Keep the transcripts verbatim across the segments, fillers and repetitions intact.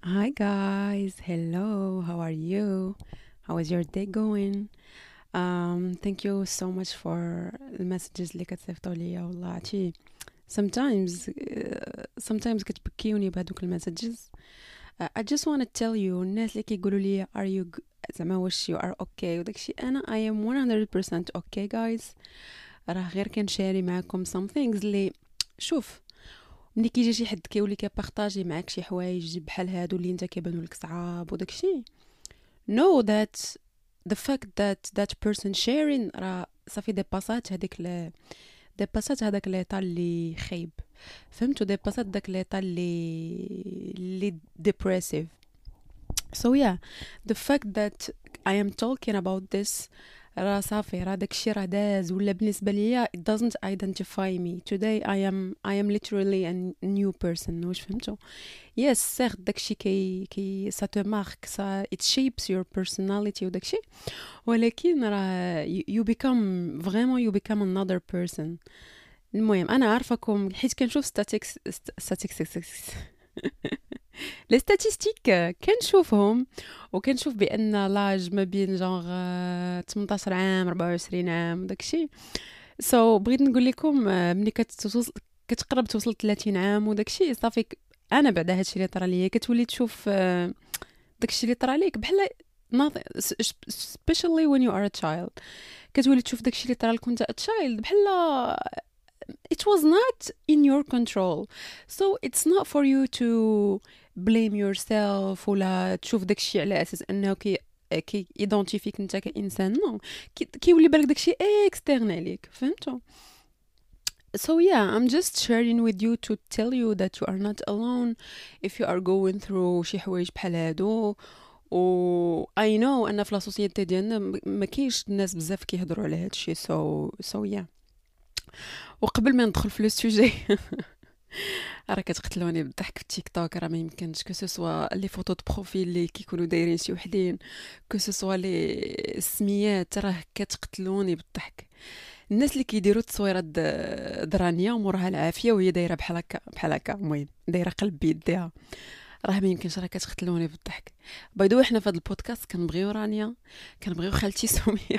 Hi guys, hello, how are you? How is your day going? Um, thank you so much for the messages اللي كتصيفطوا ليا والله عرفتي sometimes uh, sometimes كتبكيوني بهذوك المسجز. uh, I just want to tell you الناس اللي كيقولوا لي are you g- زعما واش you are okay وداكشي انا I am one hundred percent okay guys. راه غير كنشاري معاكم some things اللي شوف ملي كيجي شي حد كيولي كيبارطاجي معاك شي حوايج بحال هادو اللي انت كيبانوا لك صعاب وداكشي know that the fact that that person sharing راه صافي ديباسات هذيك ل... ديباسات هذاك ليطا اللي خايب، فهمتوا؟ ديباسات داك ليطا اللي اللي depressive. So yeah, the fact that I am talking about this راه صافي راه داكشي راه داز ولا بالنسبه ليا it doesn't identify me today. I am I am literally a new person. واش فهمتوا؟ yes certes داكشي كي كي ça te marque ça it shapes your personality وداكشي، ولكن راه you you become vraiment you become another person. المهم انا عارفاكم حيت كنشوف statistics statistics لي ستاتيستيك كنشوفهم، وكنشوف بان لاج ما بين جونغ تمنطاش عام أربعة وعشرين عام داكشي. سو so, بغيت نقول لكم آه، ملي كتوصل كتقرب توصل ثلاثين عام وداكشي صافي ك- انا بعد هادشي اللي طرا ليا كتولي تشوف آه، داكشي اللي طرا ليك بحال nothing s- especially when you are a child. كتولي تشوف داكشي اللي طرا لك وانت a child بحال it was not in your control. So it's not for you to blame yourself ولا تشوف داكشي على اساس انه كي كي ايدونتيفيك انت كانسان. نو كي كيولي بالك داكشي اكسترن عليك، فهمتوا؟ So yeah, I'm just sharing with you to tell you that you are not alone if you are going through شي حوايج بحال هادو. و I know ان في لا سوسيتي ديالنا م- ما كاينش الناس بزاف كيهضروا على هادشي. so so yeah. وقبل ما ندخل في لو سوجي راه كتقتلوني بالضحك في التيك توك، راه ما يمكنش كو سو سوا لي فوتو دو بروفيل اللي كيكونوا دايرين شي وحدين، كو سو سوا لي السميات، راه كتقتلوني بالضحك. الناس اللي كيديروا التصويرات د- درانيه ومورها العافيه وهي دايره بحال هكا بحال هكا، المهم دايره قلب بيديها، راه ما يمكنش، راه كتقتلوني بالضحك. بايدو حنا في هذا البودكاست كنبغيو رانيا، كنبغيو خالتي سميه.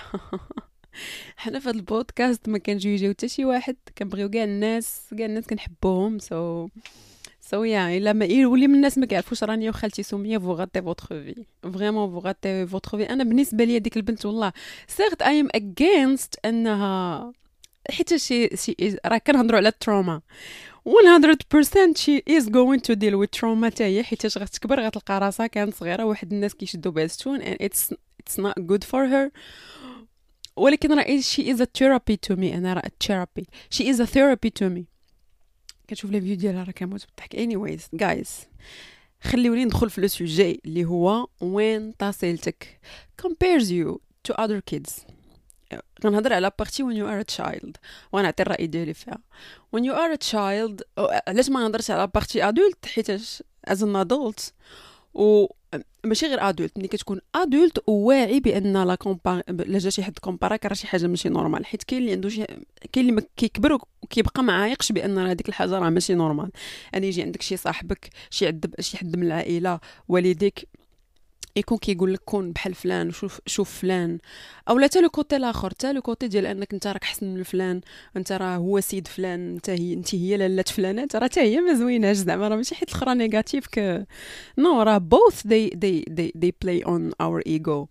حنا في هذا البودكاست ما كنجيو يجيو حتى شي واحد، كنبغيو كاع الناس، كاع الناس كنحبوهم. سو سو يا الا ما يولي من الناس ما كيعرفوش راني وخالتي سميه فو غاتي فوتر في فريمون فو غاتي فوتر في. انا بالنسبه لي ديك البنت والله سيغت اي ام اجينست انها، حيت شي شي راه كنهضروا على التروما one hundred percent she is going to deal with trauma حتى هي، حيت غتكبر غتلقى راسها كانت صغيره واحد الناس كيشدوا بها الستون and it's it's not good for her. ولكن راه she is a therapy to me. انا راه therapy she is a therapy to me. كتشوف لي فيديو ديالها راه كنموت بالضحك. anyways guys خليوني ندخل في لو سوجي اللي هو وين طاسيلتك compares you to other kids. غنهضر على بارتي when you are a child ونعطي الرأي ديالي فيها. when you are a child أو- علاش ما نهضرش على بارتي adult؟ حيتاش as an adult و ماشي غير ادولت، ملي كتكون ادولت وواعي بان لا كومبار لا جا شي حد كومباراك راه شي حاجه ماشي نورمال، حيت كاين اللي عنده شي، كاين اللي ما كيكبر وكيبقى ما عايقش بان راه هذيك الحاجه راه ماشي نورمال. يعني يجي عندك شي صاحبك، شي عد شي حد من العائله، والديك يكون كيقول لك كون بحال فلان، شوف شوف فلان، او لا حتى لو كوتي الاخر، حتى لو كوتي ديال انك انت راك احسن من فلان، انت راه هو سيد فلان، انت هي انت هي لاله فلانه، راه حتى هي ما زويناش زعما، راه ماشي حيت الاخرى نيجاتيف ك نو، راه both they they they they play on our ego.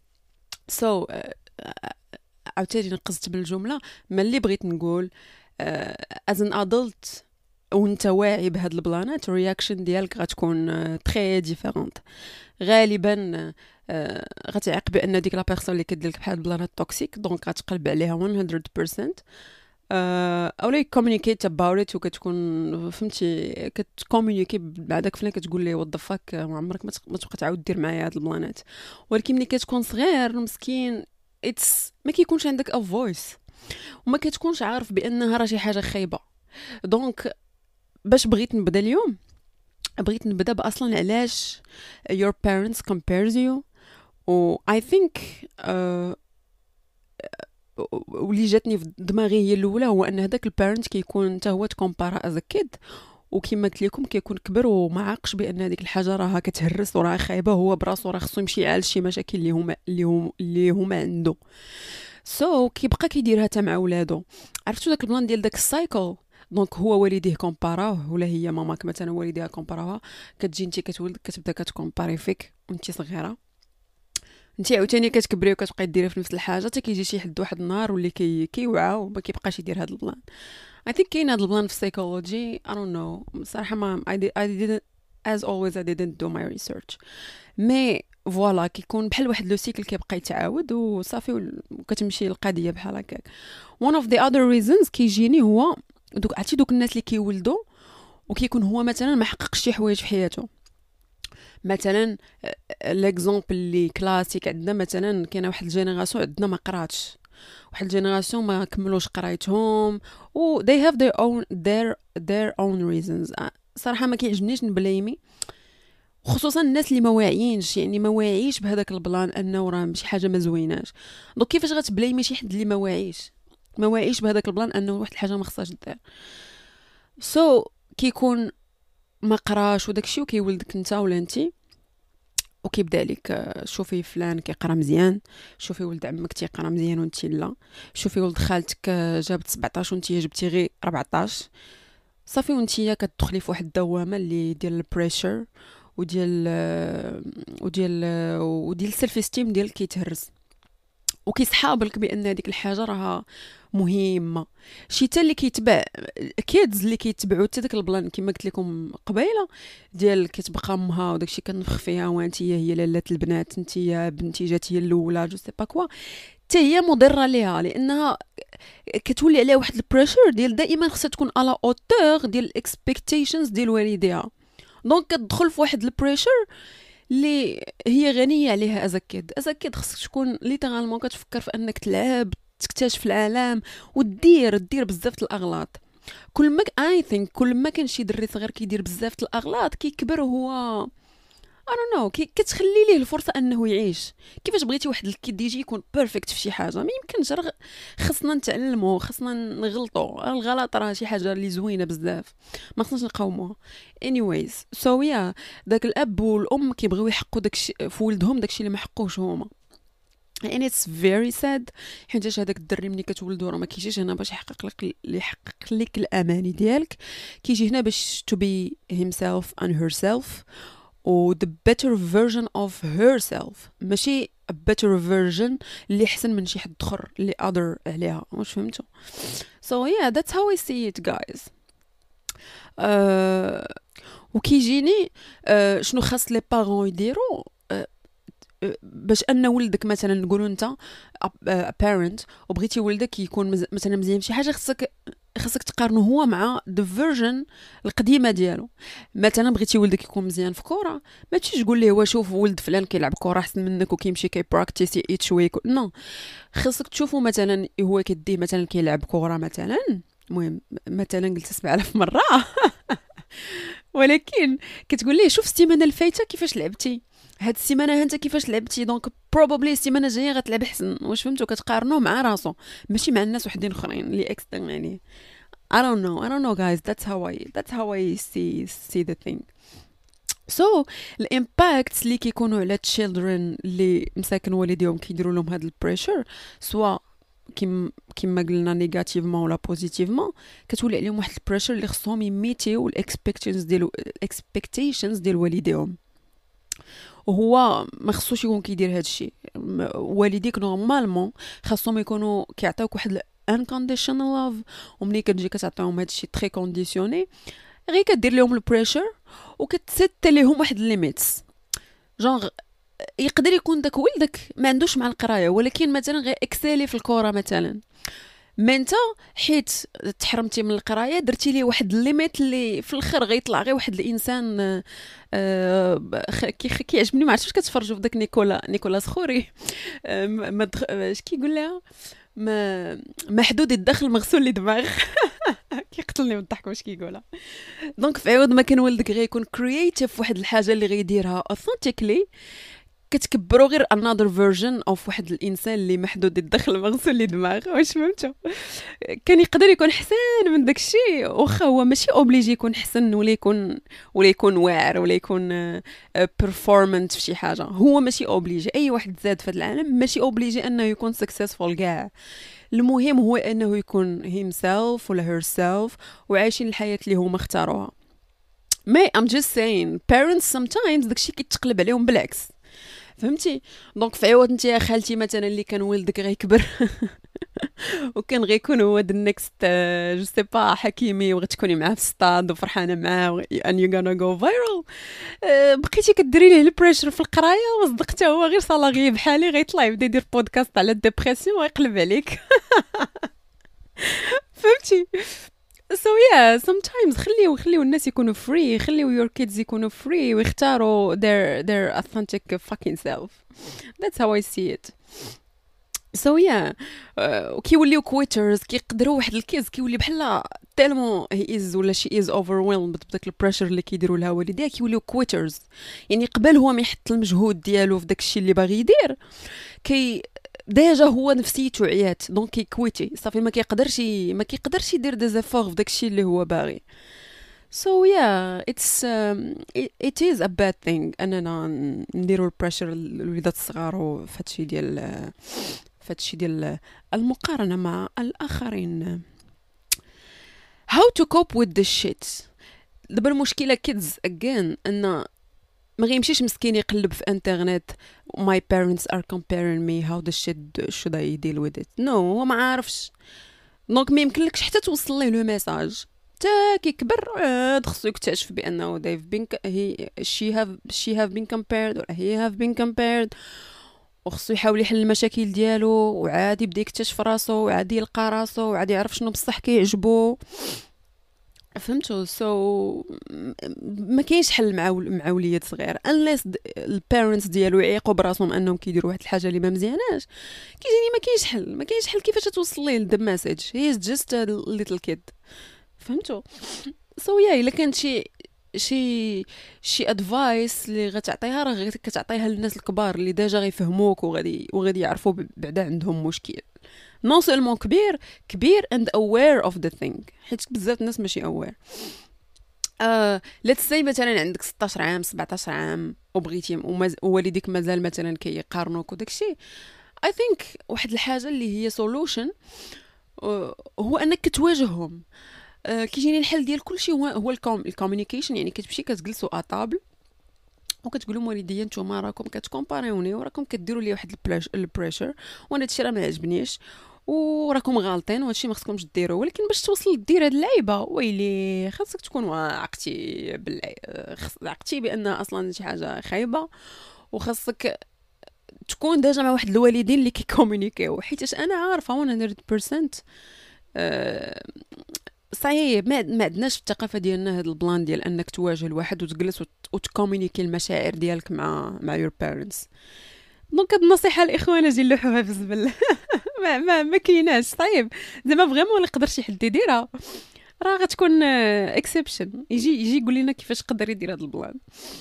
so uh, عاوتاني نقصت بالجمله. ما اللي بغيت نقول uh, as an adult وانت واعي بهاد البلانات الرياكشن ديالك غتكون تري ديفيرونت. غالبا آه، غتعيق بان ديك لا بيرسون اللي كدير لك بحال البلانات توكسيك، دونك غتقلب عليها one hundred percent. آه، اولا كومونيكيت اباوت ات، وكتكون فهمتي كتكومونيكي مع داك فلان، كتقول ليه وات ذا فاك ما عمرك ما تق- ما تبقى تعاود دير معايا هاد البلانات. ولكن ملي كتكون صغير مسكين اتس ما كيكونش عندك ا فويس، وما كتكونش عارف بانها راه شي حاجه خايبه. دونك باش بغيت نبدا اليوم، بغيت نبدا باصلا علاش your parents compares you. و I think uh, واللي جاتني في دماغي هي الاولى هو ان هذاك البارنت كيكون حتى هو تكومبارا از كيد، وكما قلت لكم كيكون كبر وما عاقش بان هذيك الحاجه راها كتهرس وراها خايبه، هو براسو راه خصو يمشي يعالج شي مشاكل اللي هما اللي هما اللي هما عنده. سو so, كيبقى كيديرها حتى مع ولادو. عرفتوا داك البلان ديال داك السايكل؟ دونك هو والديه كومباراوه، ولا هي ماماك مثلا والديها كومباراوها، كتجي انت كتولد كتبدا كتكومباري فيك وانت صغيره، انت عاوتاني كتكبري وكتبقاي ديري في نفس الحاجه حتى كيجي شي حد واحد النهار واللي كي كيوعى وما كيبقاش يدير هذا البلان. I think كاين هذا البلان في psychology. I don't know صراحه ما I, did, I didn't as always I didn't do my research. مي فوالا كيكون بحال واحد لو سيكل كيبقى يتعاود وصافي وكتمشي القضيه بحال هكاك. one of the other reasons كيجيني هو دوك عرفتي دوك الناس اللي كيولدوا وكيكون هو مثلا ما حققش شي حوايج في حياته. مثلا ليكزامبل اللي كلاسيك عندنا، مثلا كاينه واحد الجينيراسيون عندنا ما قراتش، واحد الجينيراسيون ما كملوش قرايتهم و they have their own their their own reasons. صراحه ما كيعجبنيش نبليمي خصوصا الناس اللي ما واعيينش، يعني ما واعيش بهذاك البلان انه راه شي حاجه ما زويناش. دونك كيفاش غتبليمي شي حد اللي ما واعيش ما واعيش بهذاك البلان انه واحد الحاجه ما خصهاش دير؟ سو so, كيكون ما قراش وداكشي وكيولدك انت ولا انتي وكيبدا لك شوفي فلان كيقرا مزيان، شوفي ولد عمك تيقرا مزيان وانتي لا، شوفي ولد خالتك جابت سبعطاش وانتي جبتي غير أربعطاش، صافي وانتي كتدخلي في واحد الدوامه اللي ديال البريشر وديال وديال وديال السيلف استيم ديالك كيتهرس وكيسحابلك بان هذيك الحاجه راها مهمه. شي تا اللي كيتبع كيدز اللي كيتبعوا حتى داك البلان كما قلت لكم قبيله ديال كتبقى امها وداكشي كنفخ فيها وانت هي لاله البنات انت يا بنتي جات هي الاولى جو سي با كوا، حتى هي مضره ليها لانها كتولي عليها واحد البريشر ديال دائما خصها تكون على اوتور ديال الاكسبكتيشنز ديال والديها. دونك كتدخل في واحد البريشر اللي هي غنيه عليها. ازكد ازكد خصك تكون ليترالمون كتفكر في انك تلعب تكتشف العالم ودير دير بزاف الاغلاط. كل ما اي ثينك كل ما كان شي دري صغير كيدير بزاف الاغلاط كيكبر هو I don't know كي كتخلي ليه الفرصه انه يعيش. كيفاش بغيتي واحد الكيد يجي يكون بيرفكت في شي حاجه؟ ما يمكنش. راه خصنا نتعلموا، خصنا نغلطوا. الغلط راه شي حاجه اللي زوينه بزاف ما خصناش نقاوموها. anyways so yeah داك الاب والام كيبغيو يحقوا داكشي في ولدهم داكشي اللي ما حقوش هما. and it's very sad حيت هذاك الدري ملي كتولدو راه ما كيجيش هنا باش يحقق لك اللي يحقق لك الاماني ديالك، كيجي هنا باش to be himself and herself و the better version of herself، ماشي a better version اللي احسن من شي حد اخر اللي other عليها. واش فهمتوا؟ so yeah that's how I see it guys. uh, وكيجيني uh, شنو خاص لي بارون يديروا باش ان ولدك مثلا نقولوا انت a parent وبغيتي ولدك يكون مثلا مزيان في شي حاجه، خصك خصك تقارنه هو مع the version القديمه ديالو. مثلا بغيتي ولدك يكون مزيان في كره، ما تجيش تقول ليه وشوف ولد فلان كيلعب كره احسن منك وكيمشي كيبراكتيس ايت شويه نو. خصك تشوفوا مثلا هو كيديه مثلا كيلعب كره مثلا، المهم مثلا قلت سبعة آلاف مره ولكن كتقول ليه شوف السيمانه الفايته كيفاش لعبتي، هاد السيمانه انت كيفاش لعبتي، دونك بروبابلي السيمانه الجايه غتلعب احسن. واش فهمتوا؟ كتقارنوه مع راسو ماشي مع الناس وحدين اخرين اللي اكسترن يعني. I don't know I don't know guys that's how I that's how I see see the thing. so الامباكت اللي كيكونوا على children اللي مساكن والديهم كيديروا لهم هاد البريشر سواء كيما كيما قلنا نيجاتيفمون ولا بوزيتيفمون، كتولي عليهم واحد البريشر اللي خصهم يميتيو الاكسبكتيشنز ديال الاكسبكتيشنز ديال والديهم، وهو ما خصوش يكون كيدير هذا الشيء. والديك نورمالمون خاصهم يكونوا كيعطيوك واحد unconditional love، وملي كتجي كتعطيهم هذا الشيء تري كونديسيوني غير كدير لهم البريشر وكتسيت ليهم واحد الليميتس. جونغ يقدر يكون داك ولدك ما عندوش مع القرايه ولكن مثلا غير اكسالي في الكره مثلا، ما انت حيت تحرمتي من القرايه درتي ليه واحد الليميت اللي في الاخر غيطلع غير واحد الانسان آه كيعجبني. ما عرفتش واش كتفرجوا في داك نيكولا نيكولا سخوري ما اش كيقول لها ما محدود الدخل مغسول لدماغ كيقتلني من الضحك واش كيقولها. دونك في عوض ما كان ولدك غيكون كرييتيف واحد الحاجه اللي غيديرها اوثنتيكلي، كتكبروا غير another version of واحد الانسان اللي محدود الدخل مغسول لي دماغ. واش فهمتوا؟ كان يقدر يكون حسن من داكشي، واخا هو ماشي اوبليجي يكون حسن ولا يكون ولا يكون واعر ولا يكون بيرفورمانت في شي حاجه. هو ماشي اوبليجي، اي واحد زاد في هذا العالم ماشي اوبليجي انه يكون سكسسفول كاع. المهم هو انه يكون himself ولا herself وعايشين الحياه اللي هما اختاروها. مي I'm just saying parents sometimes داكشي كيتقلب عليهم بالعكس، فهمتي؟ دونك في عوض انت يا خالتي مثلا اللي كان ولدك غيكبر وكان غيكون هو د نيكست جو سي با حكيمي وغتكوني معاه في ستاد وفرحانه معاه and you gonna go viral، بقيتي كديري ليه البريشر في القرايه وصدقته هو غير صلاغي بحالي غيطلع يبدا يدير بودكاست على الديبرسيون ويقلب عليك. فهمتي؟ so yeah sometimes خليو خليو الناس يكونوا free، خليو your kids يكونوا free ويختاروا their their authentic fucking self. that's how I see it. so yeah uh, كيوليو كويترز كيقدروا واحد الكيز كيولي بحال تالمون he is ولا she is overwhelmed بداك البريشر اللي كيديروا لها والديها، كيوليو كويترز. يعني قبل هو ما يحط المجهود ديالو في داكشي اللي باغي يدير كي ديجا هو نفسيته عيات، دونك كيكويتي صافي ما كيقدرش ما كيقدرش يدير دي زيفور في داكشي اللي هو باغي. so yeah it's um, it, it is a bad thing اننا نديروا البريشر الوليدات الصغار في هادشي ديال في هادشي ديال المقارنه مع الاخرين. how to cope with this shit. دابا المشكله kids again ان ما غيمشيش مسكين يقلب في انترنت my parents are comparing me how the shit should I deal with it. no هو ما عارفش، دونك ما يمكنلكش حتى توصل ليه لو ميساج. تا كيكبر عاد خصو يكتشف بانه they've been he she have she have been compared or he have been compared، وخصو يحاول يحل المشاكل ديالو وعاد يبدا يكتشف راسو وعاد يلقى راسو وعاد يعرف شنو بصح كيعجبو. فهمتوا؟ سو so, ما كاينش حل مع مع وليد صغير unless البيرنتس ديالو يعيقوا براسهم انهم كيديروا واحد الحاجه اللي ما مزياناش. كيجيني ما كاينش حل ما كاينش حل كيفاش توصل ليه the message he is just a little kid. فهمتوا؟ سو so, يا yeah, الا كانت شي شي شي ادفايس اللي غتعطيها راه كتعطيها للناس الكبار اللي ديجا غيفهموك وغادي وغادي يعرفوا بعدا عندهم مشكل. نو سولمون كبير كبير and aware of the thing، حيت بزاف الناس ماشي aware. آه let's say مثلا عندك ستاشر عام سبعطاش عام وبغيتي ومز... ووالديك مازال مثلا كيقارنوك وداكشي. I think واحد الحاجه اللي هي solution آه هو انك كتواجههم. آه كيجيني الحل ديال كلشي هو هو الكوميونيكيشن. يعني كتمشي كتجلسوا اطابل وكتقول لهم والديا نتوما راكم كتكومباريوني وراكم كديروا لي واحد البريشر وانا هادشي راه ما عجبنيش وراكم غالطين وهادشي ما خصكمش ديروا، ولكن باش توصل دير هاد اللعيبه ويلي خاصك تكون عقتي بالله عقتي بان اصلا شي حاجه خايبه، وخاصك تكون ديجا مع واحد الوالدين اللي كيكومونيكيو. حيت انا عارفه مية بالمية أه صحيح ما ما عندناش في الثقافه ديالنا هذا البلان ديال انك تواجه الواحد وتجلس وتكومونيكي المشاعر ديالك مع مع يور بيرنتس. دونك هاد النصيحه الاخوان اجي نلوحوها في الزبل. ما ما, ما كايناش صعيب زعما فريمون ولا يقدر شي حد يديرها راه غتكون اكسبشن. يجي يجي يقول لنا كيفاش يقدر يدير هذا البلان.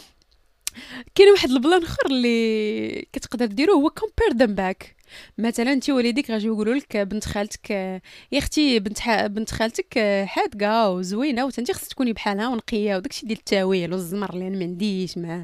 كاين واحد البلان اخر اللي كتقدر ديروه هو compare them back. مثلا انت وليديك غاجي يقولوا لك بنت خالتك يا اختي بنت ح... بنت خالتك حادقه وزوينه وانت خصك تكوني بحالها ونقيه وداكشي ديال التاويل والزمر اللي انا ما عنديش معاه.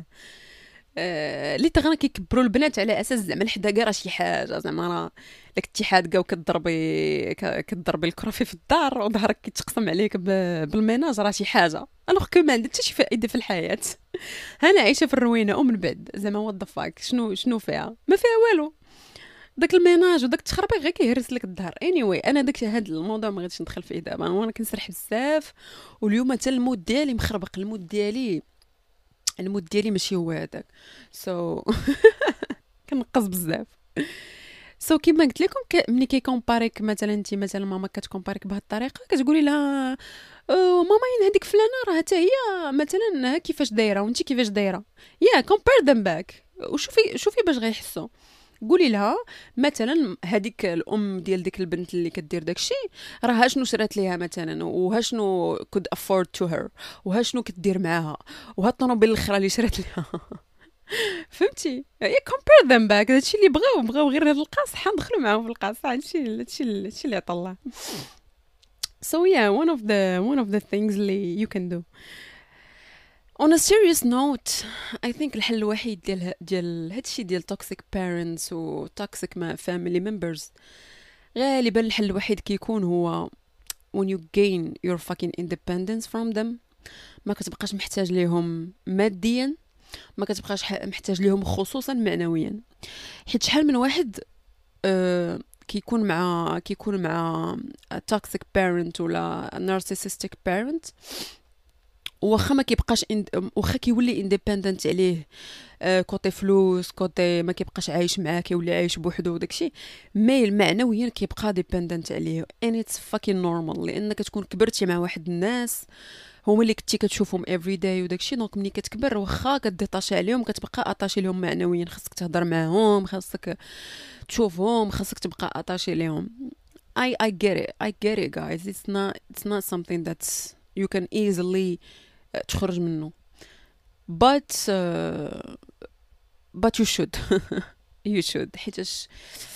اللي تغنى كيكبروا البنات على اساس زعما الحداقه راه شي حاجه، زعما راه داك انت حادقه وكتضربي كتضربي الكرافي في الدار وظهرك كيتقسم عليك بالميناج راه شي حاجه الوغ كو ما عندها حتى شي فائده في الحياه. انا عايشه في الروينه ومن بعد زعما وات ذا فاك شنو شنو فيها؟ ما فيها والو. داك الميناج وداك التخربيق غير كيهرس لك الظهر. اني anyway, انا داك هذا الموضوع ما غاديش ندخل فيه دابا، وانا كنسرح بزاف واليوم حتى المود ديالي مخربق. المود ديالي المود ديالي ماشي هو هذاك سو so... كنقص بزاف. سو so, كيما قلت لكم ك... ملي كيكومباريك مثلا انت مثلا ماما كتكومباريك بهذه الطريقه كتقولي لها أه ماما ين هذيك فلانه راه حتى هي مثلا كيفاش دايره وانت كيفاش دايره. يا كومبير ذم باك وشوفي شوفي باش غيحسوا. قولي لها مثلا هذيك الام ديال ديك البنت اللي كدير داكشي راه ها شنو شرات ليها مثلا وها شنو كود افورد تو هير وها شنو كدير معاها وها الطوموبيل الاخرى اللي شرات ليها. فهمتي هي compare them back. هادشي اللي بغاو بغاو غير هاد القاص حندخلوا معاهم في القاص. هادشي هادشي هادشي اللي عطا الله. So yeah, one of the one of the things اللي you can do. On a serious note, I think الحل الوحيد ديال ديال هادشي ديال toxic parents و toxic ma- family members غالبا الحل الوحيد كيكون هو when you gain your fucking independence from them. ما كتبقاش محتاج ليهم ماديا، ما كتبقاش ح- محتاج ليهم خصوصا معنويا. حيت شحال من واحد آه كيكون مع كيكون مع toxic parent ولا narcissistic parent، واخا ما كيبقاش إند... واخا كيولي اندبندنت عليه آه كوتي فلوس، كوتي ما كيبقاش عايش معاه، كيولي عايش بوحدو وداكشي، مي معنويا كيبقى ديبندنت عليه. and it's fucking normal، لان كتكون كبرتي مع واحد الناس هما اللي كنتي كتشوفهم every day وداكشي، دونك ملي كتكبر واخا كديطاشي عليهم كتبقى اطاشي لهم معنويا. خاصك تهضر معاهم، خاصك تشوفهم، خاصك تبقى اطاشي ليهم. I I get it I get it guys. It's not it's not something that's you can easily uh, تخرج منه. but uh, but you should you should حيتاش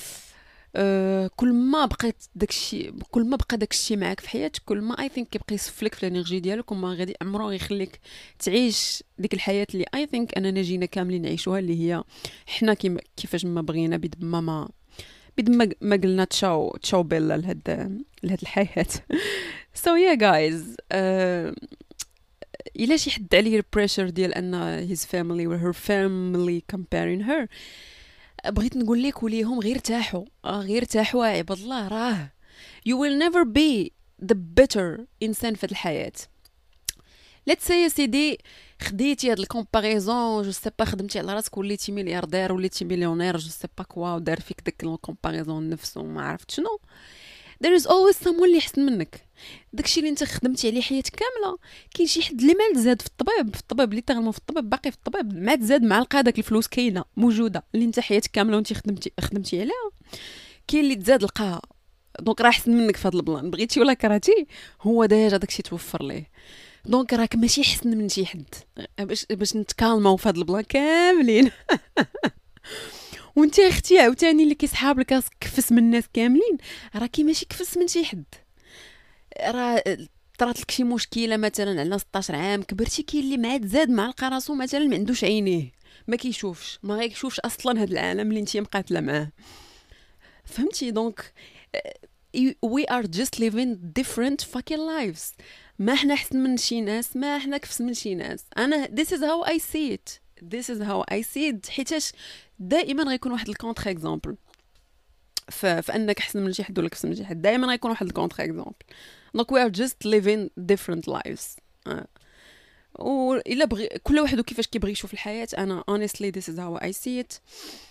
uh, كل ما بقيت داكشي كل ما بقى داكشي معاك في حياتك، كل ما اي ثينك كيبقى يصفلك في الانرجي ديالك، وما غادي عمره غيخليك تعيش ديك الحياه اللي اي ثينك اننا جينا كاملين نعيشوها، اللي هي حنا كيما كيفاش ما بغينا بيد ما ما بيد ما ما قلنا تشاو تشاو بيلا لهاد لهاد الحياه. so yeah guys uh, الا شي حد عليه البريشر ديال ان his family or her family comparing her، بغيت نقول لك وليهم غير ارتاحوا، آه غير ارتاحوا يا عباد الله. راه you will never be the better انسان في الحياه. let's say يا سيدي خديتي هاد الكومباريزون، جو سي با، خدمتي على راسك وليتي ملياردير وليتي مليونير، جو سي با كوا، ودار فيك داك الكومباريزون نفسه ما عرفت شنو. there is always someone اللي احسن منك. داكشي اللي انت خدمتي عليه حياتك كامله، كاين شي حد اللي ما زاد في الطبيب في الطبيب اللي تغلمو في الطبيب باقي في الطبيب، ما تزاد مع القا داك الفلوس كاينه موجوده اللي انت حياتك كامله وانت خدمتي خدمتي عليها، كاين اللي تزاد لقاها. دونك راه احسن منك في هذا البلان، بغيتي ولا كرهتي هو ديجا داكشي توفر ليه. دونك راك ماشي احسن من شي حد، باش باش نتكالماو في هذا البلان كاملين. وانت اختي عاوتاني اللي كيسحاب لك راسك كفس من الناس كاملين، راكي ماشي كفس من شي حد. راه طرات لك شي مشكله مثلا على ستطاش عام كبرتي، كاين اللي مع زاد مع لقى راسو مثلا ما عندوش عينيه، ما كيشوفش، ما غيشوفش اصلا هذا العالم اللي انت مقاتله معاه. فهمتي؟ دونك we are just living different fucking lives. ما احنا احسن من شي ناس، ما احنا كفس من شي ناس. انا this is how I see it this is how I see it حيتاش دائما غيكون واحد الكونتر اكزامبل ف... فانك احسن من شي حد ولا كفس من شي حد، دائما غيكون واحد الكونتر اكزامبل. دونك we are just living different lives. آه. وإلا بغي كل واحد وكيفاش كيبغي يشوف الحياة. أنا honestly this is how I see it.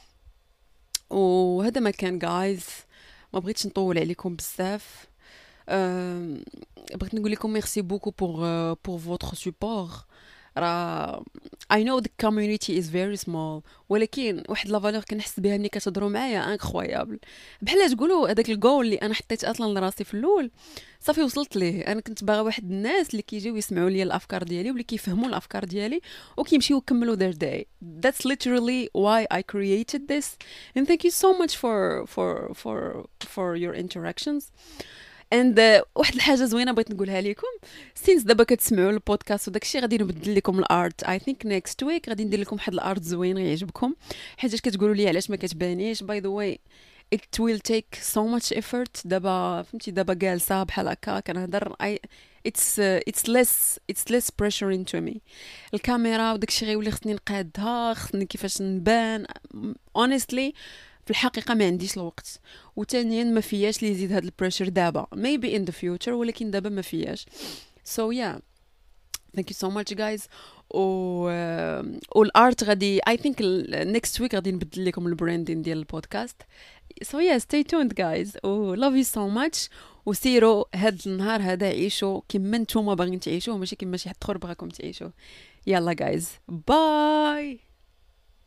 وهذا ما كان guys، ما بغيتش نطول عليكم بزاف. أه... بغيت نقول لكم ميرسي بوكو pour uh, pour votre support. راه I know the community is very small، ولكن واحد لا فالور كنحس بها ملي كتهضروا معايا انكرويابل. بحال تقولوا هذاك الجول اللي انا حطيت اصلا لراسي في الاول صافي وصلت ليه. انا كنت باغا واحد الناس اللي كيجيو يسمعوا لي الافكار ديالي واللي كيفهموا الافكار ديالي وكيمشيو يكملوا their day. That's literally why I created this, and thank you so much for for for for your interactions. and uh, واحد الحاجه زوينه بغيت نقولها لكم، سينس دابا كتسمعوا البودكاست وداكشي غادي نبدل لكم الارت. اي ثينك نيكست ويك غادي ندير لكم واحد الارت زوين غيعجبكم، حيت كتقولوا لي علاش ما كتبانيش. باي ذا واي it will take so much effort. دابا فهمتي، دابا جالسه بحال هكا كنهضر I it's uh, it's less it's less pressure into me. الكاميرا وداكشي غيولي خصني نقادها، خصني كيفاش نبان. honestly في الحقيقه ما عنديش الوقت، وثانيا ما فياش لي يزيد هاد البريشر دابا. maybe in the future، ولكن دابا ما فياش. so yeah thank you so much guys. و والارت غادي I think next week غادي نبدل لكم البراندين ديال البودكاست. so yeah stay tuned guys. و love you so much. وسيروا هاد النهار هذا عيشوا كما نتوما باغيين تعيشوه، ماشي كما شي حد اخر بغاكم تعيشوه. يلا guys باي.